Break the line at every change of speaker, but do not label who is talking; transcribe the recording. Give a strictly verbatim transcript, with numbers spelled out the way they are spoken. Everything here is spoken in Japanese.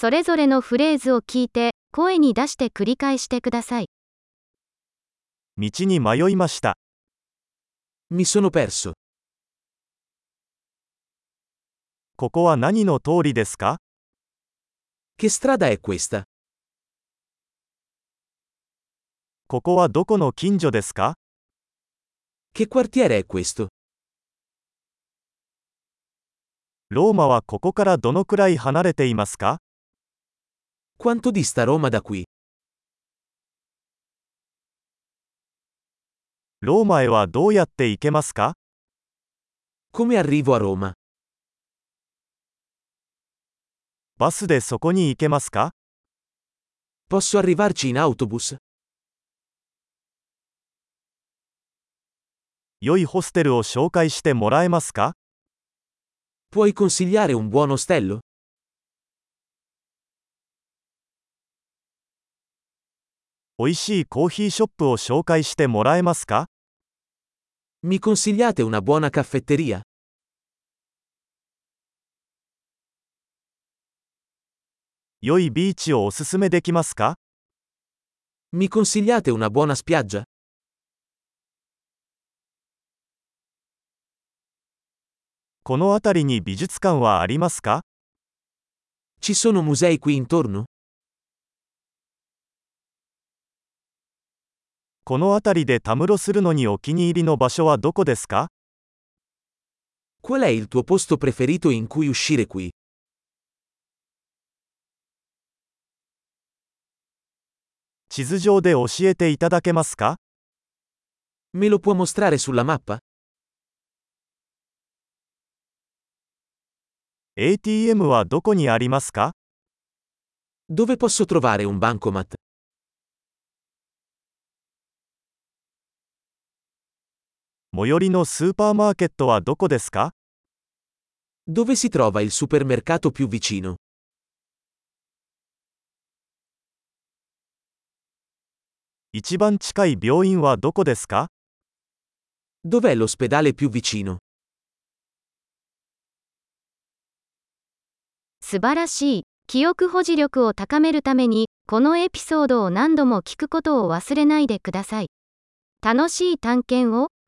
それぞれのフレーズを聞いて、声に出して繰り返してください。
道に迷いました。
Mi sono perso.
ここは何の通りですか？
Che strada è questa?
ここはどこの近所ですか？
Che quartiere è questo?
ローマはここからどのくらい離れていますか？
Quanto dista Roma da qui?
ローマへはどうやって行けますか？
Come arrivo a Roma?
バスでそこに行けますか？
Posso arrivarci in autobus?
良いホステルを紹介してもらえますか？
Puoi consigliare un buon ostello?
おいしいコーヒーショップを紹介してもらえますか？
Mi consigliate una buona caffetteria?
良いビーチをおすすめできますか？
Mi consigliate una buona spiaggia?
この辺りに美術館はありますか？
Ci sono musei qui intorno?
この辺りでたむろするのにお気に入りの場所はどこですか？
Qual è il tuo posto preferito in cui uscire qui?
地図上で教えていただけますか？
Me lo può mostrare sulla mappa?
エーティーエム はどこにありますか？
Dove posso trovare un bancomat?
最寄りのスーパーマーケットはどこですか？
Dove si trova il supermercato più vicino?
一番近い病院はどこですか？
Dov'è l'ospedale più vicino?
素晴らしい。記憶保持力を高めるために、このエピソードを何度も聞くことを忘れないでください。楽しい探検を。